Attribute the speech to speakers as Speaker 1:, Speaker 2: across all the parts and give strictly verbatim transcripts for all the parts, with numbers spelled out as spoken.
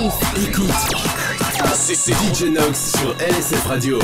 Speaker 1: dix.
Speaker 2: Écoute, c'est c'est D J Nox sur L S F Radio.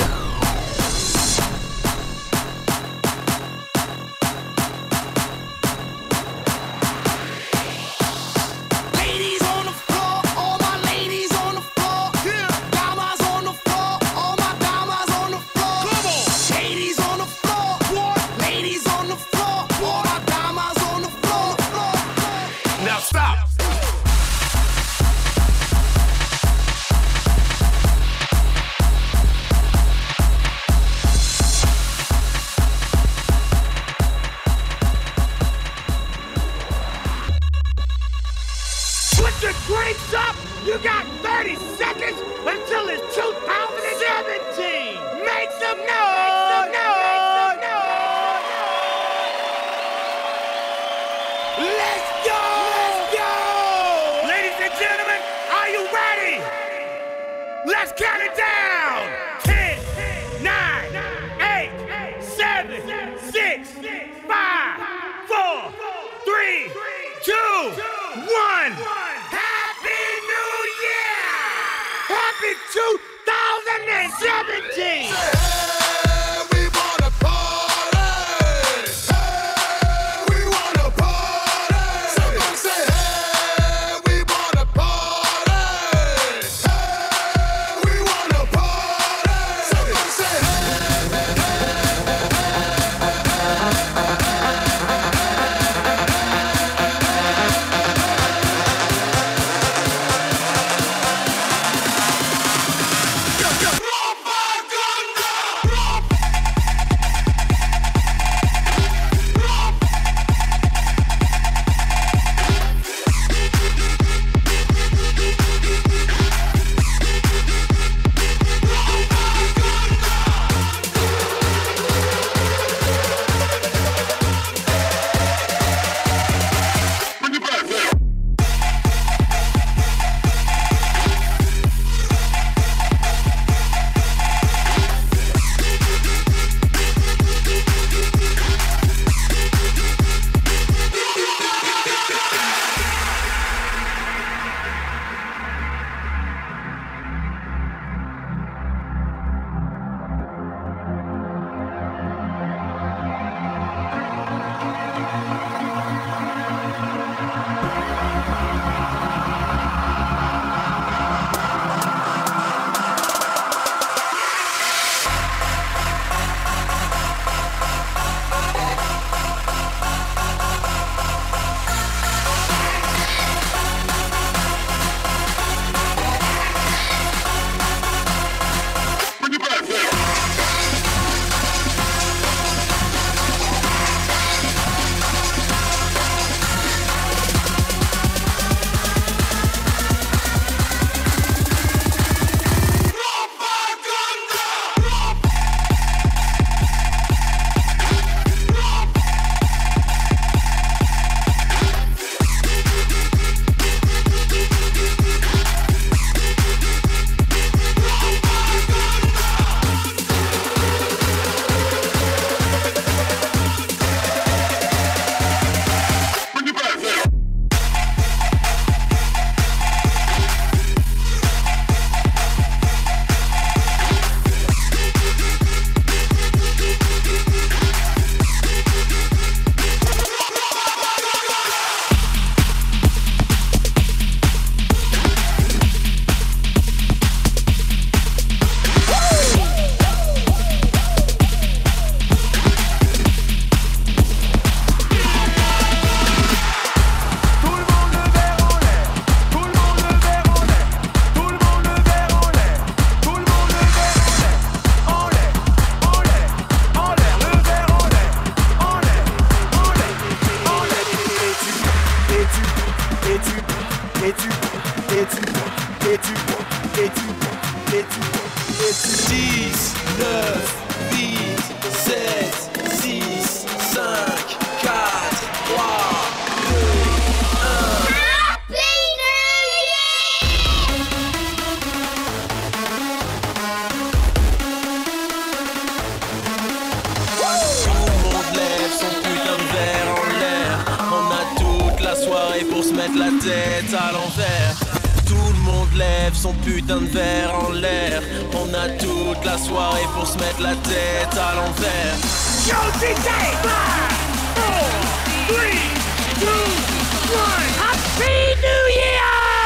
Speaker 3: soirée pour se mettre la tête à l'envers.
Speaker 2: Tout le monde lève son putain de verre en l'air. On a toute la soirée pour se mettre la tête à l'envers.
Speaker 1: Yo, D J! five, four, three, two, one. Happy New Year!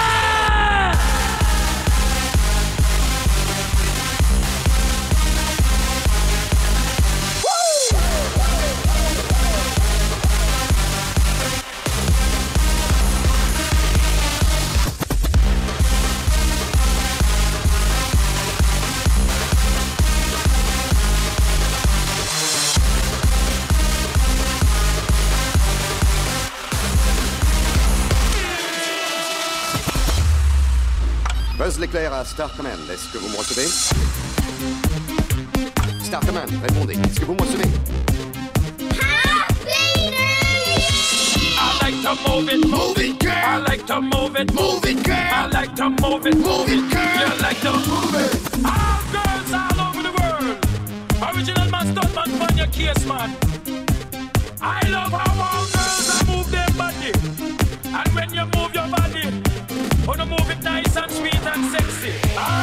Speaker 3: Buzz l'éclair à Star Command, est-ce que vous me recevez? Star Command, répondez, est-ce que vous me recevez?
Speaker 1: Happy New Year!
Speaker 4: I like to move it, move it, girl. I like to move it, move it, girl. I like to move it, move it, girl. You like to move it. All girls all over the world. Original man, stunt man, man, your case man. I love how all girls move their body. And when you move your body, wanna move it nice and sweet and sexy.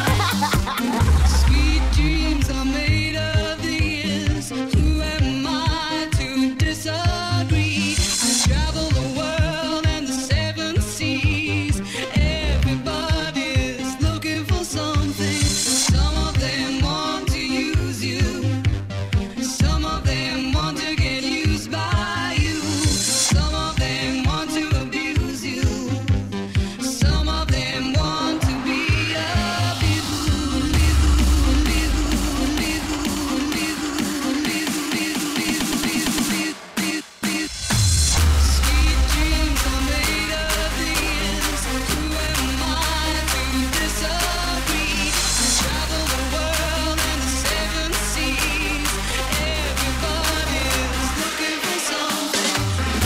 Speaker 5: Sweet dreams are made of these. Who am I to disagree? I travel the world and the seven seas. Everybody's looking for something. Some of them want to use you. Some of them want to get used by you. Some of them want to abuse you. Some of them want to be a boo, boo, Sweet dreams are made of these. Who am I to disagree? I travel the world and the seven seas. Everybody's looking for something.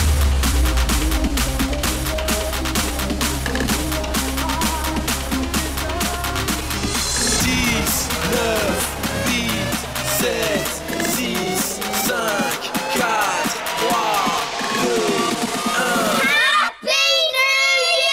Speaker 2: dix, neuf, huit, sept, six, cinq, quatre, trois, deux, un.
Speaker 1: Happy New Year!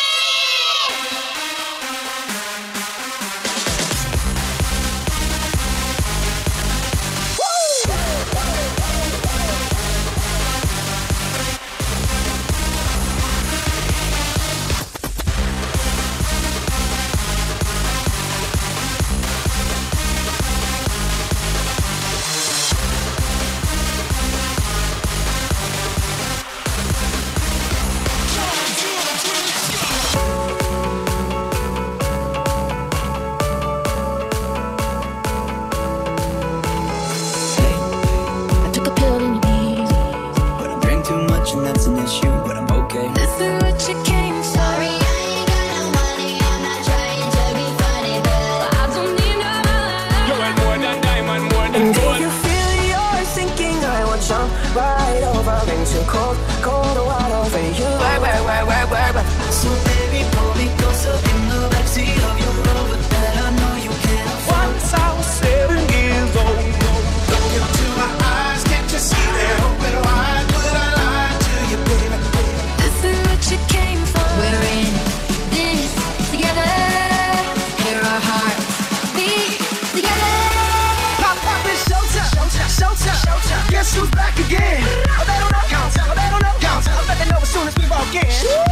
Speaker 6: I took a pill and you easy.
Speaker 7: But I drink too much and that's an issue, but I'm okay.
Speaker 6: This is what you came for.
Speaker 1: Sorry, I ain't got no money. I'm not trying to be funny, but
Speaker 6: I don't need no money.
Speaker 4: You want more than diamond, more than
Speaker 8: And
Speaker 4: gold.
Speaker 8: if you feel you're sinking, I will jump right over into cold, cold water for you. Work, work, work, work, work, work.
Speaker 7: So baby, pull me closer in the backseat of your Rover that I know you can't afford.
Speaker 8: Once I was seven years old.
Speaker 9: Look into my eyes, can't you see that open wide? Would I lie to you, baby?
Speaker 6: This is what you came for.
Speaker 1: we're in this together. Hear our hearts beat together.
Speaker 8: Pop, pop, it's showtime, showtime, showtime, showtime. Guess who's back again? Oh, they don't know, count, oh, they don't know, count. I bet they know as soon as we walk in.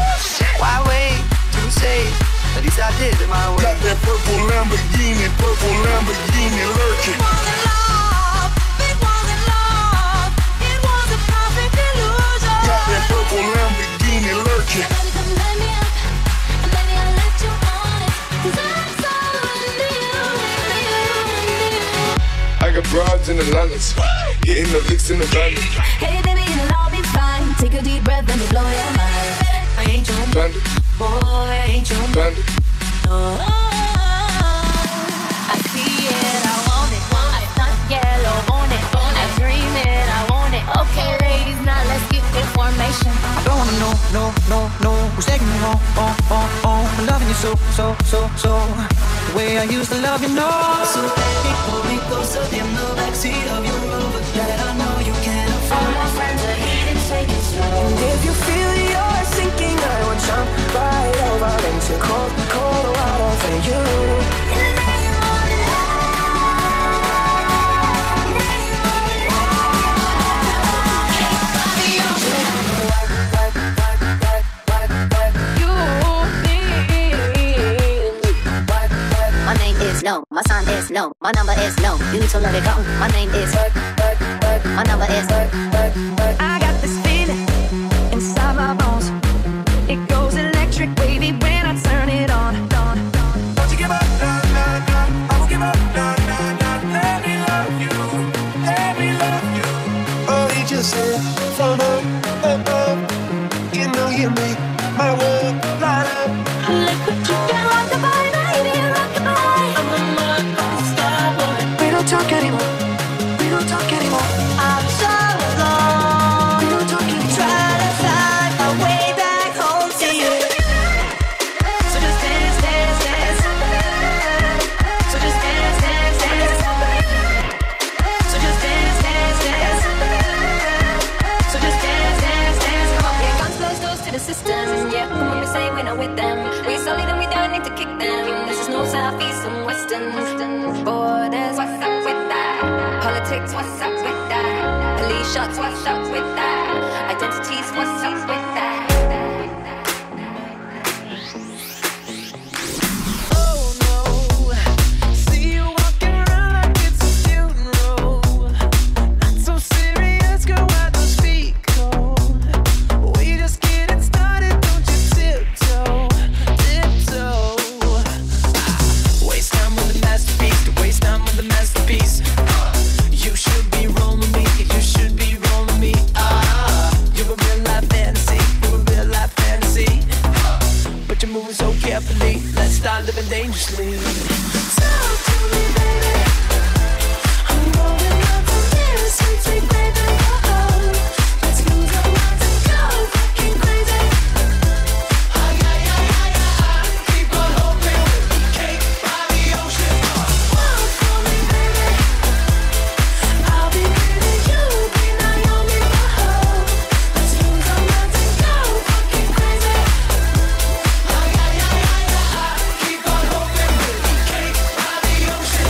Speaker 7: Why wait to say? At least I did it my way.
Speaker 9: Got that purple Lamborghini, purple Lamborghini lurking.
Speaker 6: Was in love, it wasn't love. It was a perfect illusion.
Speaker 9: Got that purple Lamborghini lurking.
Speaker 6: Baby, come let me up, and baby, I'll let you on it. 'Cause I'm so into you, into you, into you.
Speaker 9: I got broads in the Londons, hitting the licks in the van.
Speaker 6: Hey baby, it'll all be fine. Take a deep breath, let me blow your mind. I ain't your
Speaker 9: Bandit,
Speaker 6: boy, I ain't your
Speaker 9: bandit.
Speaker 6: no. I see it, I want it. I stunt yellow on it. I dream it, I want it. Okay, ladies, now let's get the formation.
Speaker 7: I don't wanna know, no, no, no. Who's taking me home, oh, oh, oh. I'm loving you so, so, so, so. The way I used to love you, no. So baby, pull me closer in the backseat of your Rover that I know you can't
Speaker 6: All
Speaker 7: afford.
Speaker 6: my friends are here to take it slow.
Speaker 8: And if you feel you're sinking, I will jump right over into cold, cold water.
Speaker 6: is no. My sign is no. My number is no. You need to let it go. My name is work, work, work. My number is work, work, work.
Speaker 10: I got this feeling inside my bones. It goes electric wavy when I turn it on. on.
Speaker 9: Don't you give up, nah, nah, nah. I won't give up, nah, nah, nah. Let me love you, let me love you. Oh, he just said, from up, up, up. You know you make my world light up.
Speaker 6: Look what you can rock the body, baby, rock the body. I'm a mother star boy.
Speaker 10: We don't talk anymore. We don't talk anymore.
Speaker 6: I'm so alone.
Speaker 10: We don't talk anymore.
Speaker 6: Try to find my way back home to you. So just dance, dance, dance. So just dance, dance, dance. So just dance, dance, dance. So just dance, dance, dance. Come on, yeah, guns close doors to the systems. Yeah, come on, we say we're not with them. We solid and we don't need to kick them. This is no south, east, and western. Borders, what's up with that? Politics, what's up with that? Police shots, what's up with that? Identities, what's up with that?
Speaker 10: Oh no, see you walking around like it's a funeral. Not so serious, girl, why those feet cold? We just getting started, don't you tiptoe, tiptoe. Waste time with the masterpiece, to waste time with the masterpiece. You should be rolling me, you should be rolling me. Ah, you're a real life fantasy, you're a real life fantasy. But you're moving so carefully, let's start living dangerously. Talk to me, baby. I'm rolling up from here, sweet, sweet baby. Oh, let's lose our minds and go fucking crazy.
Speaker 9: Ay, ay, ay, ay, ay. Keep on hoping with the cake by the ocean.
Speaker 10: Walk for me, baby. I'll be giving you, be Naomi, oh. Let's lose our minds and go fucking crazy.
Speaker 9: Ay, ay, ay, ay, ay. Keep on hoping with the cake by the ocean.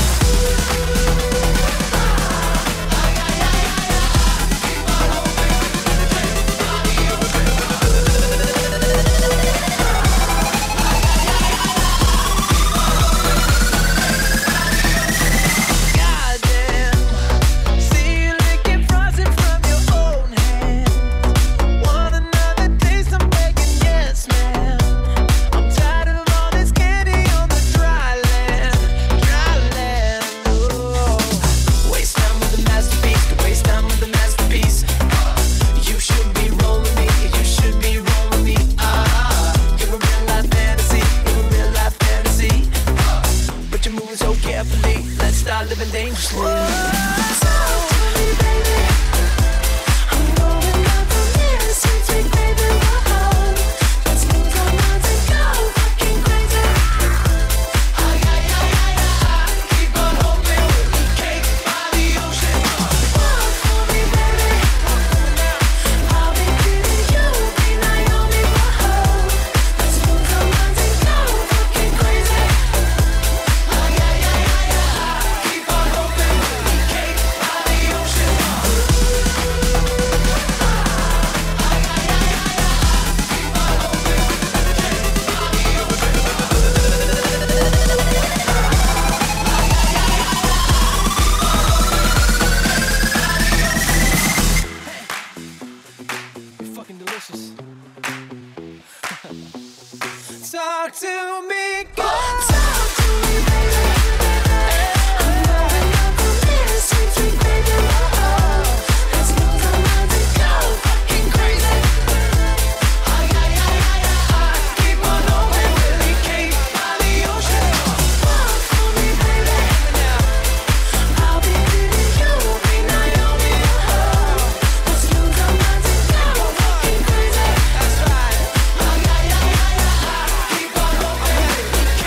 Speaker 10: Goddamn, see you licking frosting from your own hand. Want another taste? I'm begging, yes, man. I'm tired of all this candy on the dry land, dry land. Oh, waste time with the masterpiece, to waste time with the masterpiece. You should be rolling me, you should be rolling me. Ah, you're a real life fantasy, you're a real life fantasy. But you're moving so carefully, let's start living dangerously. Talk to me, baby. I'm rolling up from here, sweet, sweet baby. Oh, let's lose our minds and go fucking crazy.
Speaker 9: Ay, ay, ay, ay, ay. Keep on hoping with the cake by the ocean.
Speaker 10: Walk for me, baby. I'll be giving you, be Naomi, oh. Let's lose our minds and go fucking crazy.
Speaker 9: Ay, ay, ay, ay, ay. Keep on hoping with the cake by the ocean.
Speaker 10: You're fucking delicious. Talk to me, girl. Talk to me, baby. I'm rolling up from here, sweet, sweet baby. Oh, let's lose our minds and go fucking crazy.
Speaker 9: Ay, ay, ay, ay, ay. Keep on hoping with the cake by the ocean.
Speaker 10: Walk for me, baby. I'll be giving you, be Naomi, oh. Let's lose our minds and go fucking crazy. That's right.
Speaker 9: Ay, ay, ay, ay, ay. Keep on hoping with the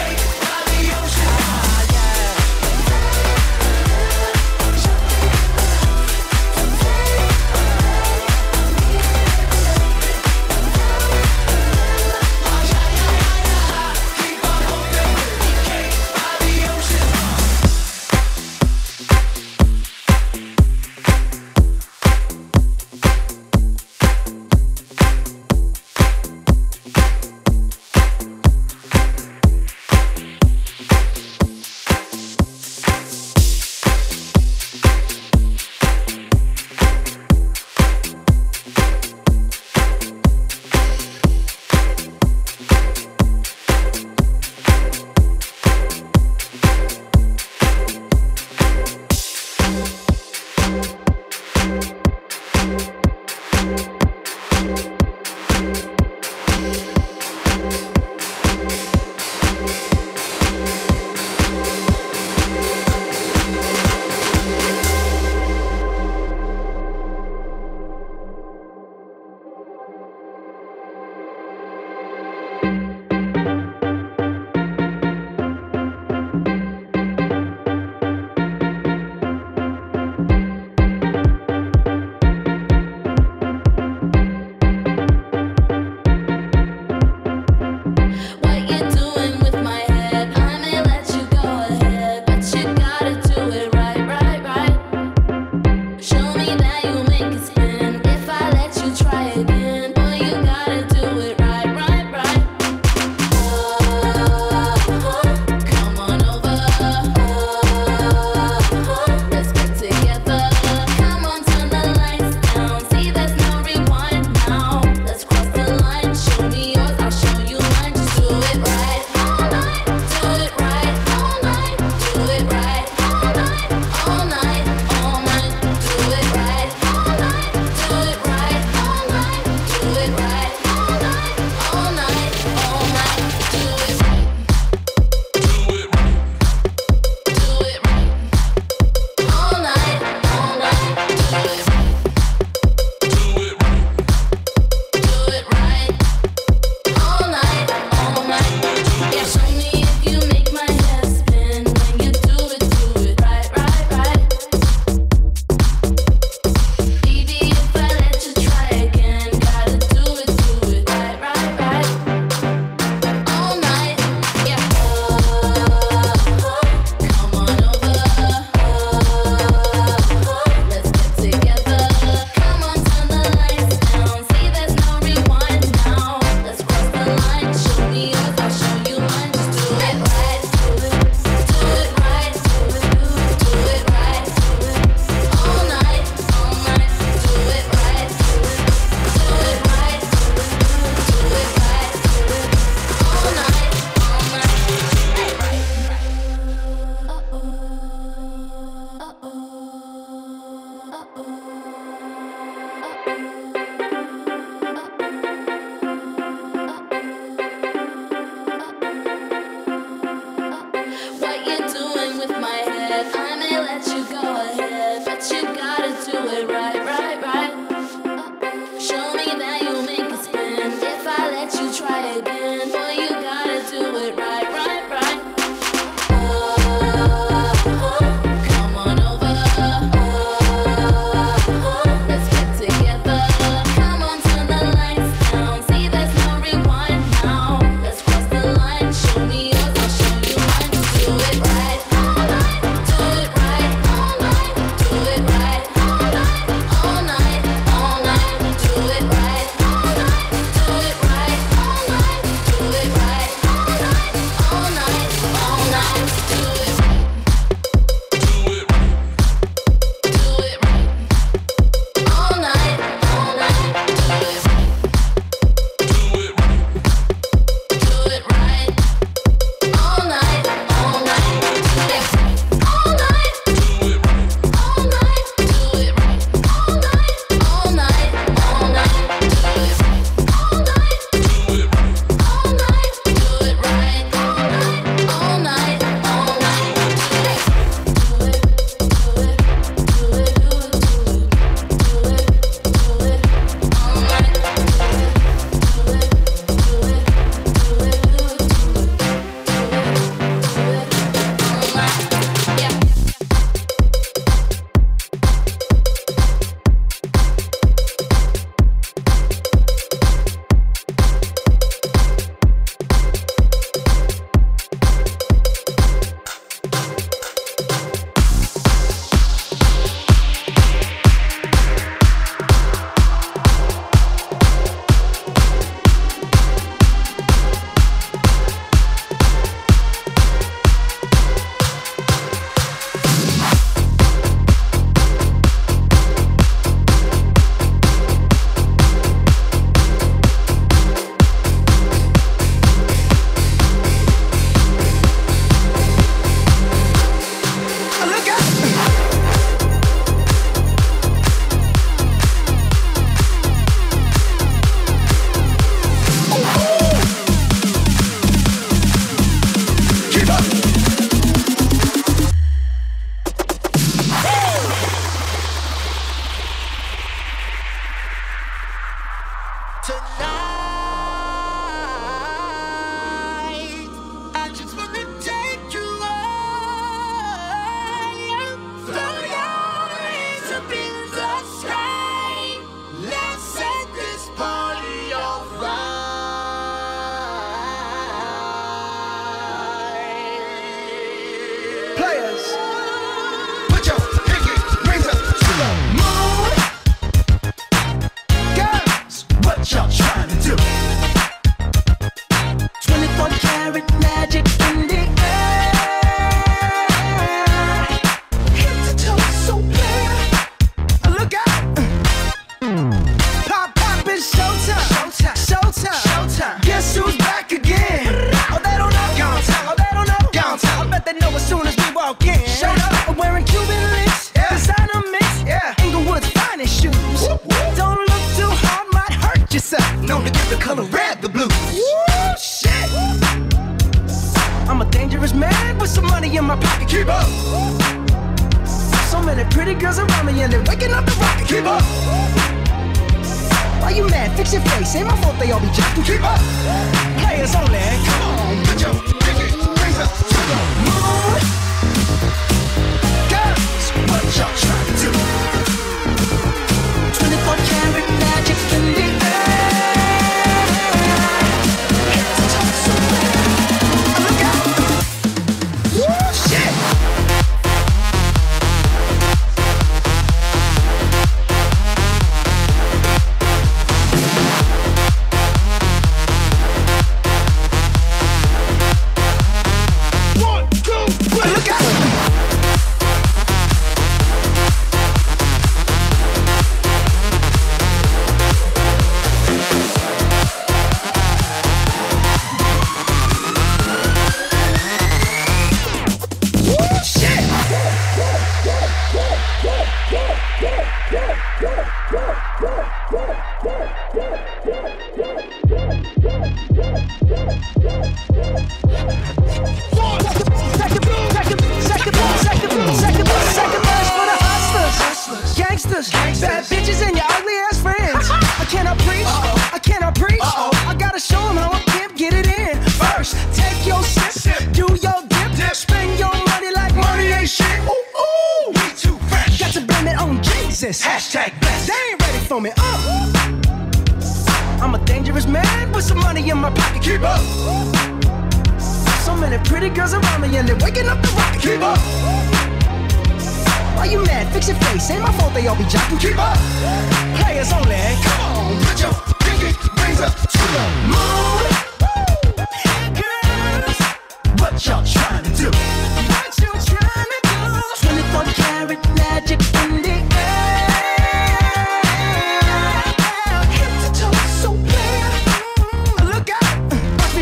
Speaker 8: Break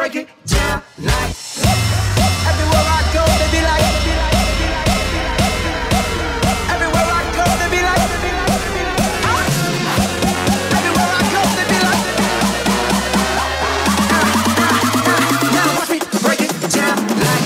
Speaker 8: break it down like. Everywhere I go, they be like. Everywhere I go, they be like. Everywhere I go, they be like. Now watch me break it down like.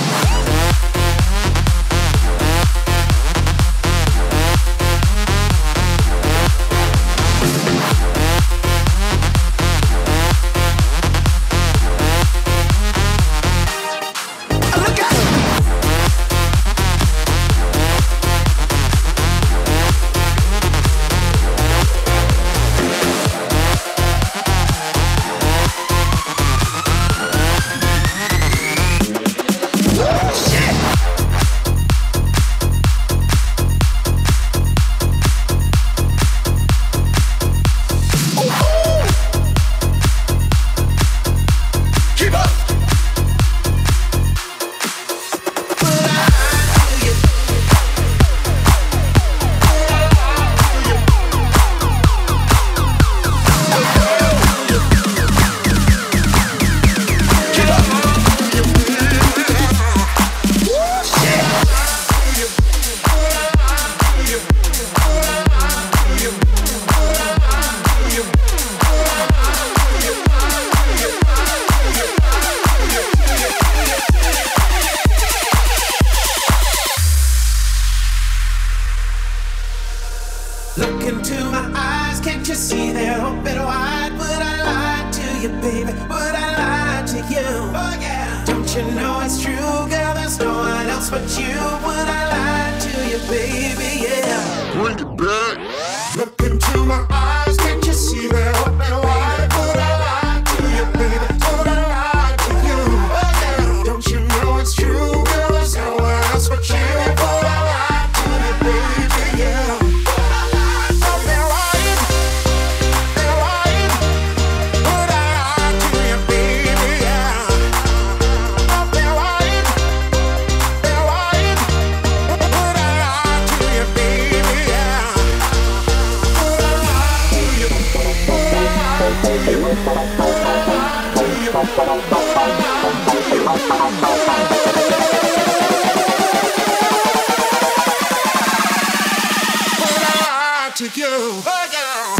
Speaker 8: Look into my eyes, can't you see they're open wide? Would I lie to you, baby? Would I lie to you? Oh yeah. Don't you know it's true, girl? There's no one else but you. Would I lie to you, baby? Yeah. Bring it back. Look into my eyes, can't you see they're open wide? Would I lie to you, baby? Would I lie to you? Oh yeah. Don't you know it's true, girl? There's no one else but you. Would I lie to you, baby? Yeah. To you, oh yeah.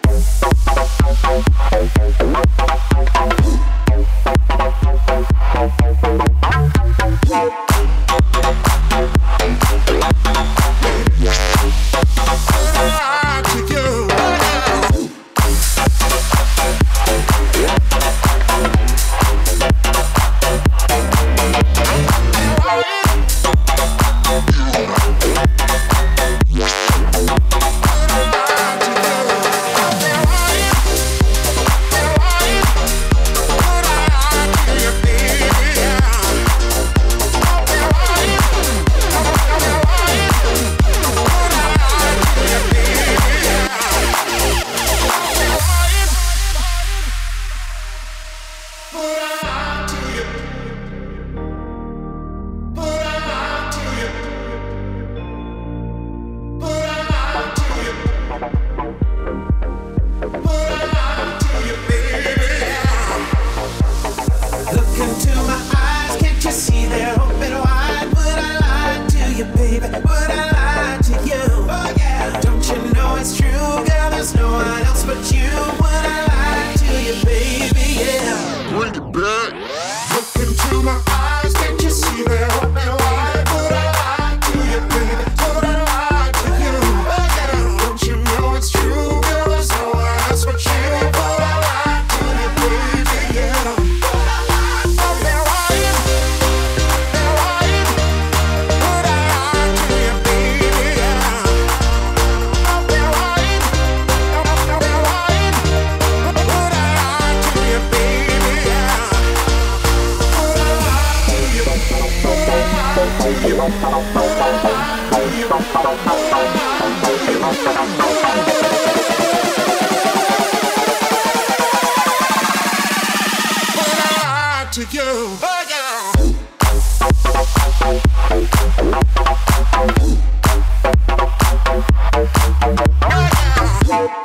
Speaker 8: To you, oh yeah.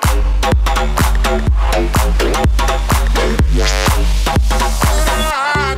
Speaker 8: Oh yeah.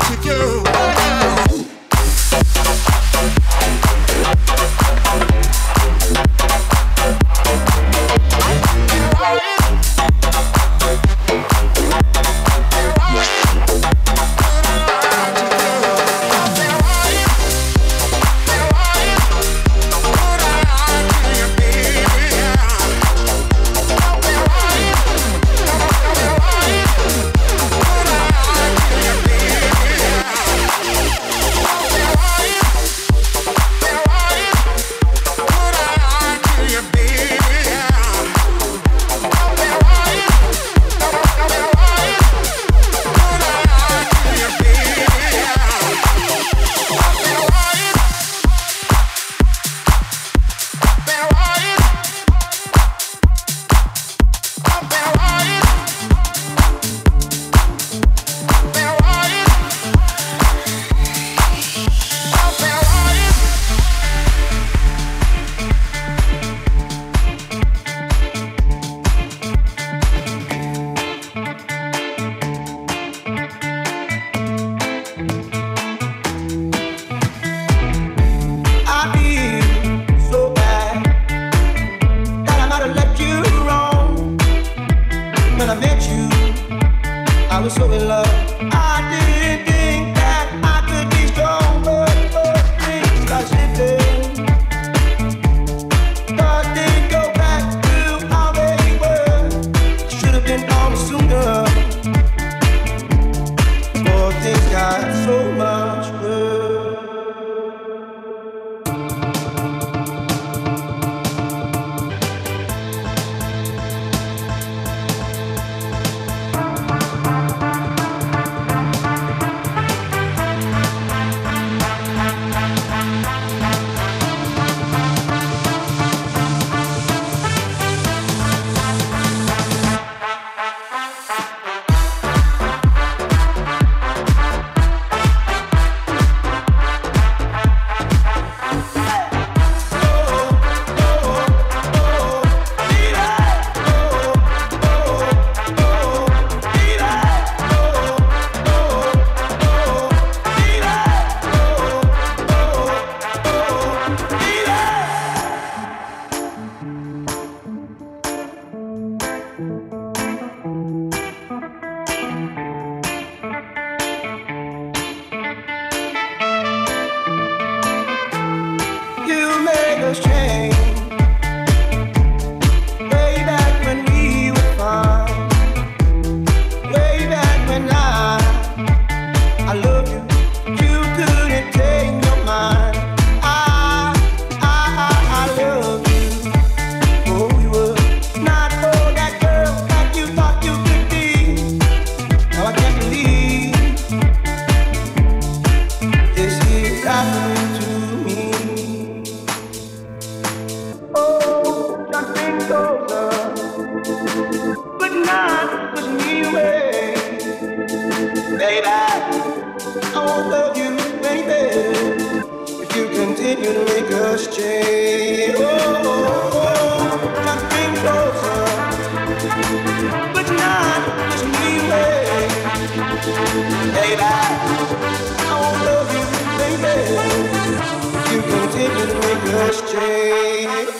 Speaker 9: love you, baby, if you continue to make us change. Oh, oh, oh, just bring closer, but not just me, baby. Baby, I won't love you, baby, if you continue to make us change.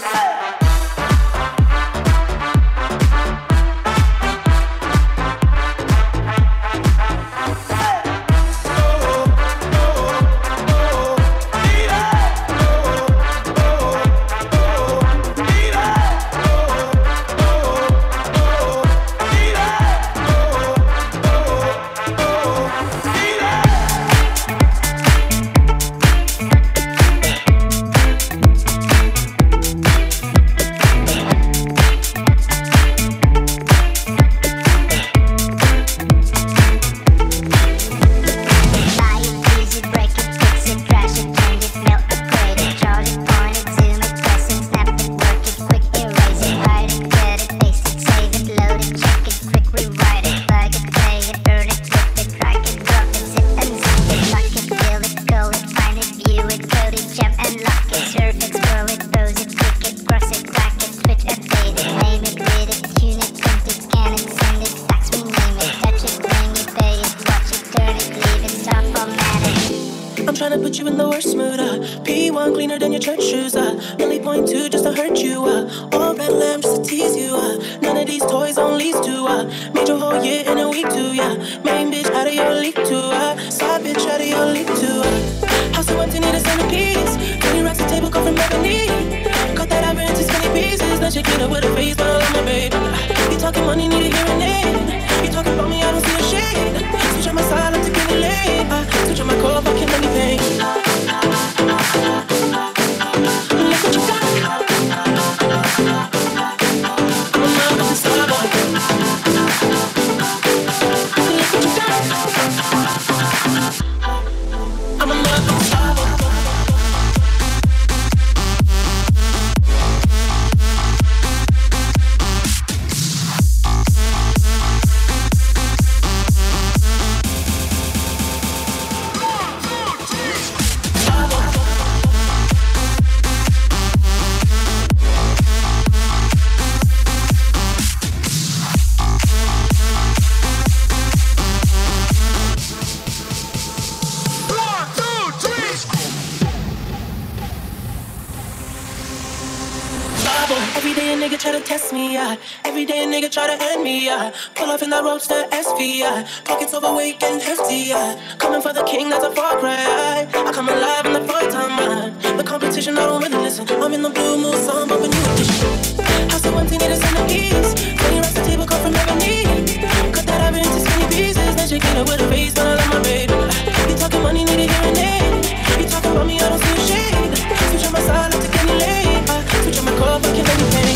Speaker 11: Pockets overweight and hefty, yeah. Coming for the king, that's a far cry. I come alive in the fourth time, man. The competition, I don't really listen. I'm in the blue mood, so I'm bumping new edition. House so empty, need a centerpiece. twenty racks the table, come from ebony. Cut that ivory into skinny pieces. Then shake it up with a face, but I love my baby. You talking money, need a hearing aid. You talking about me, I don't see a shade. Switch on my side, let's take any lane. Switch on my car, fucking anything.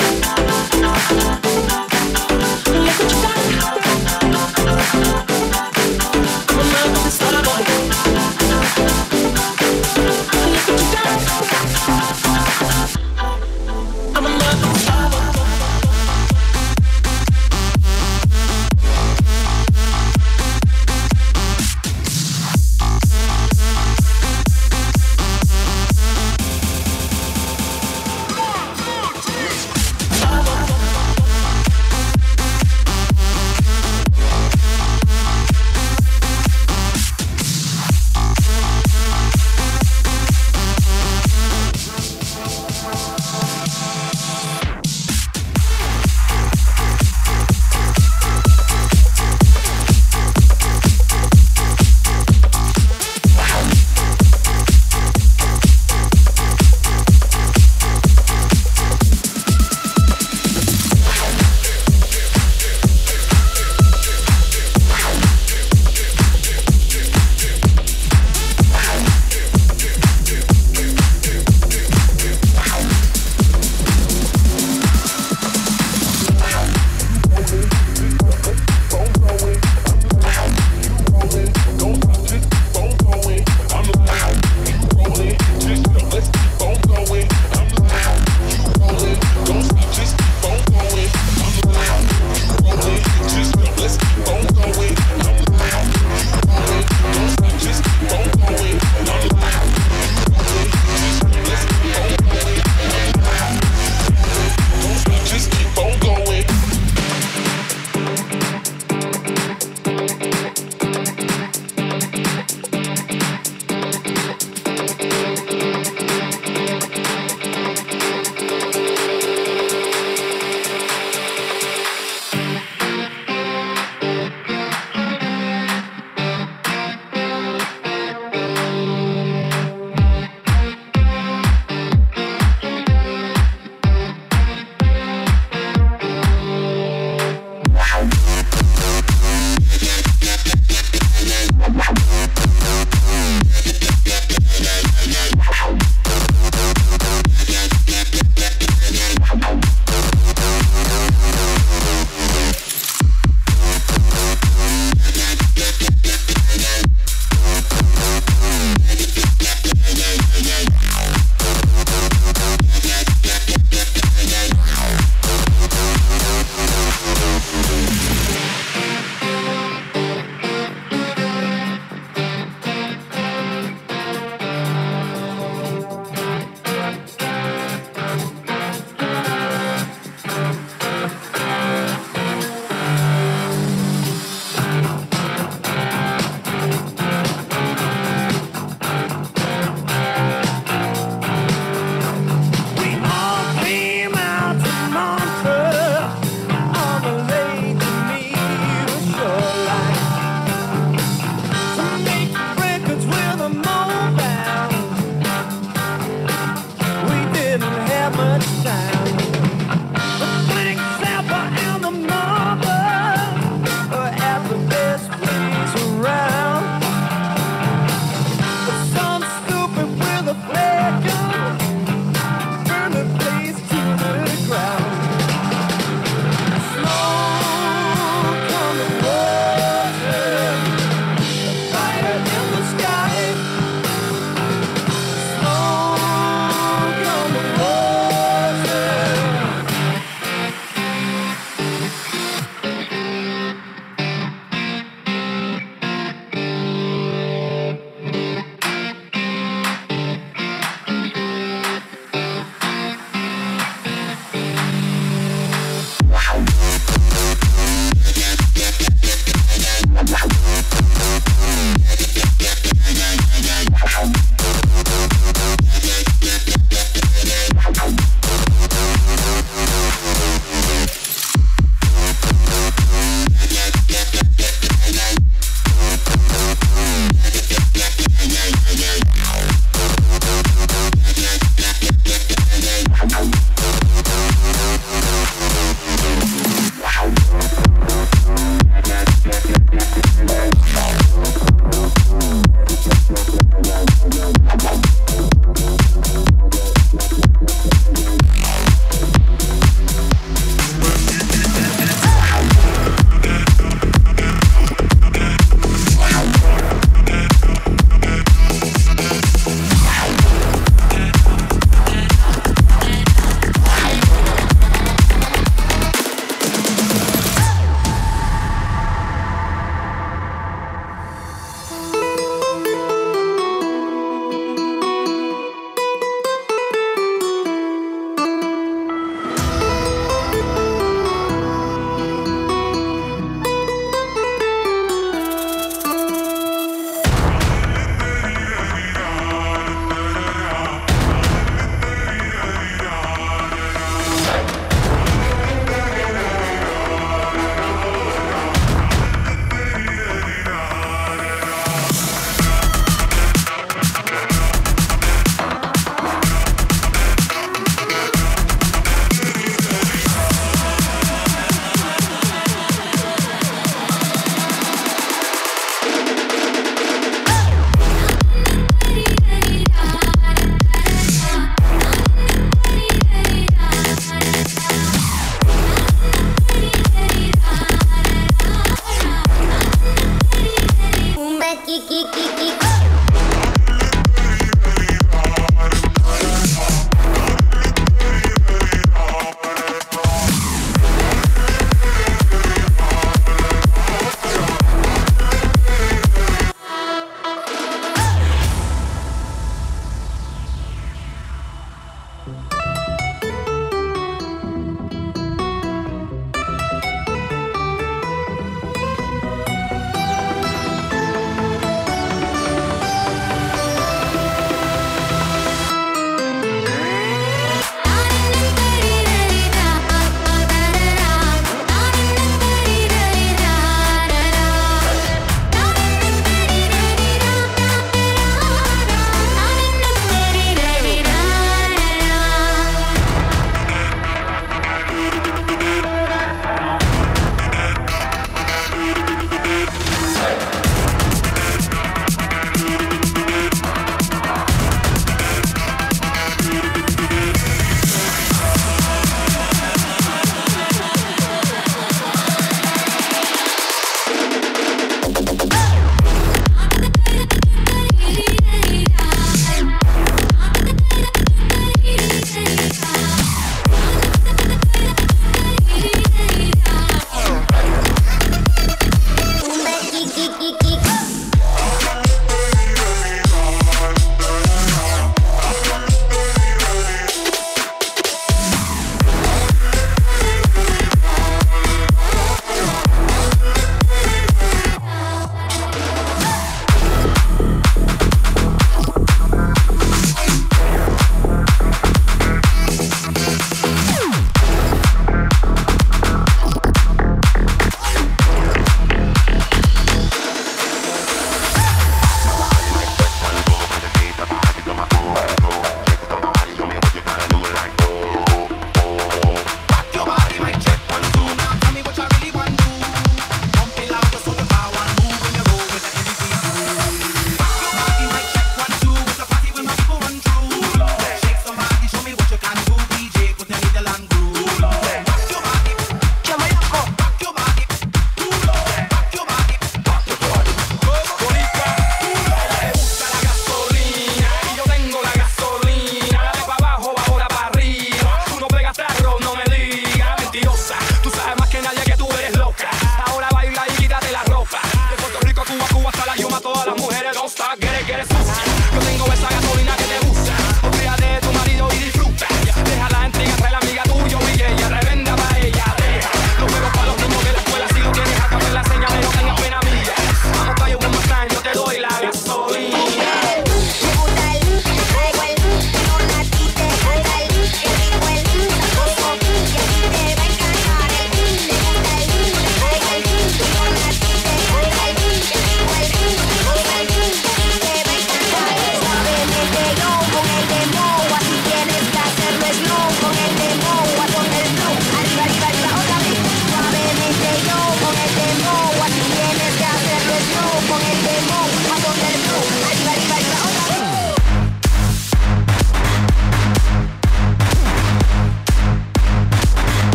Speaker 11: Look what you got.
Speaker 12: We'll be right back.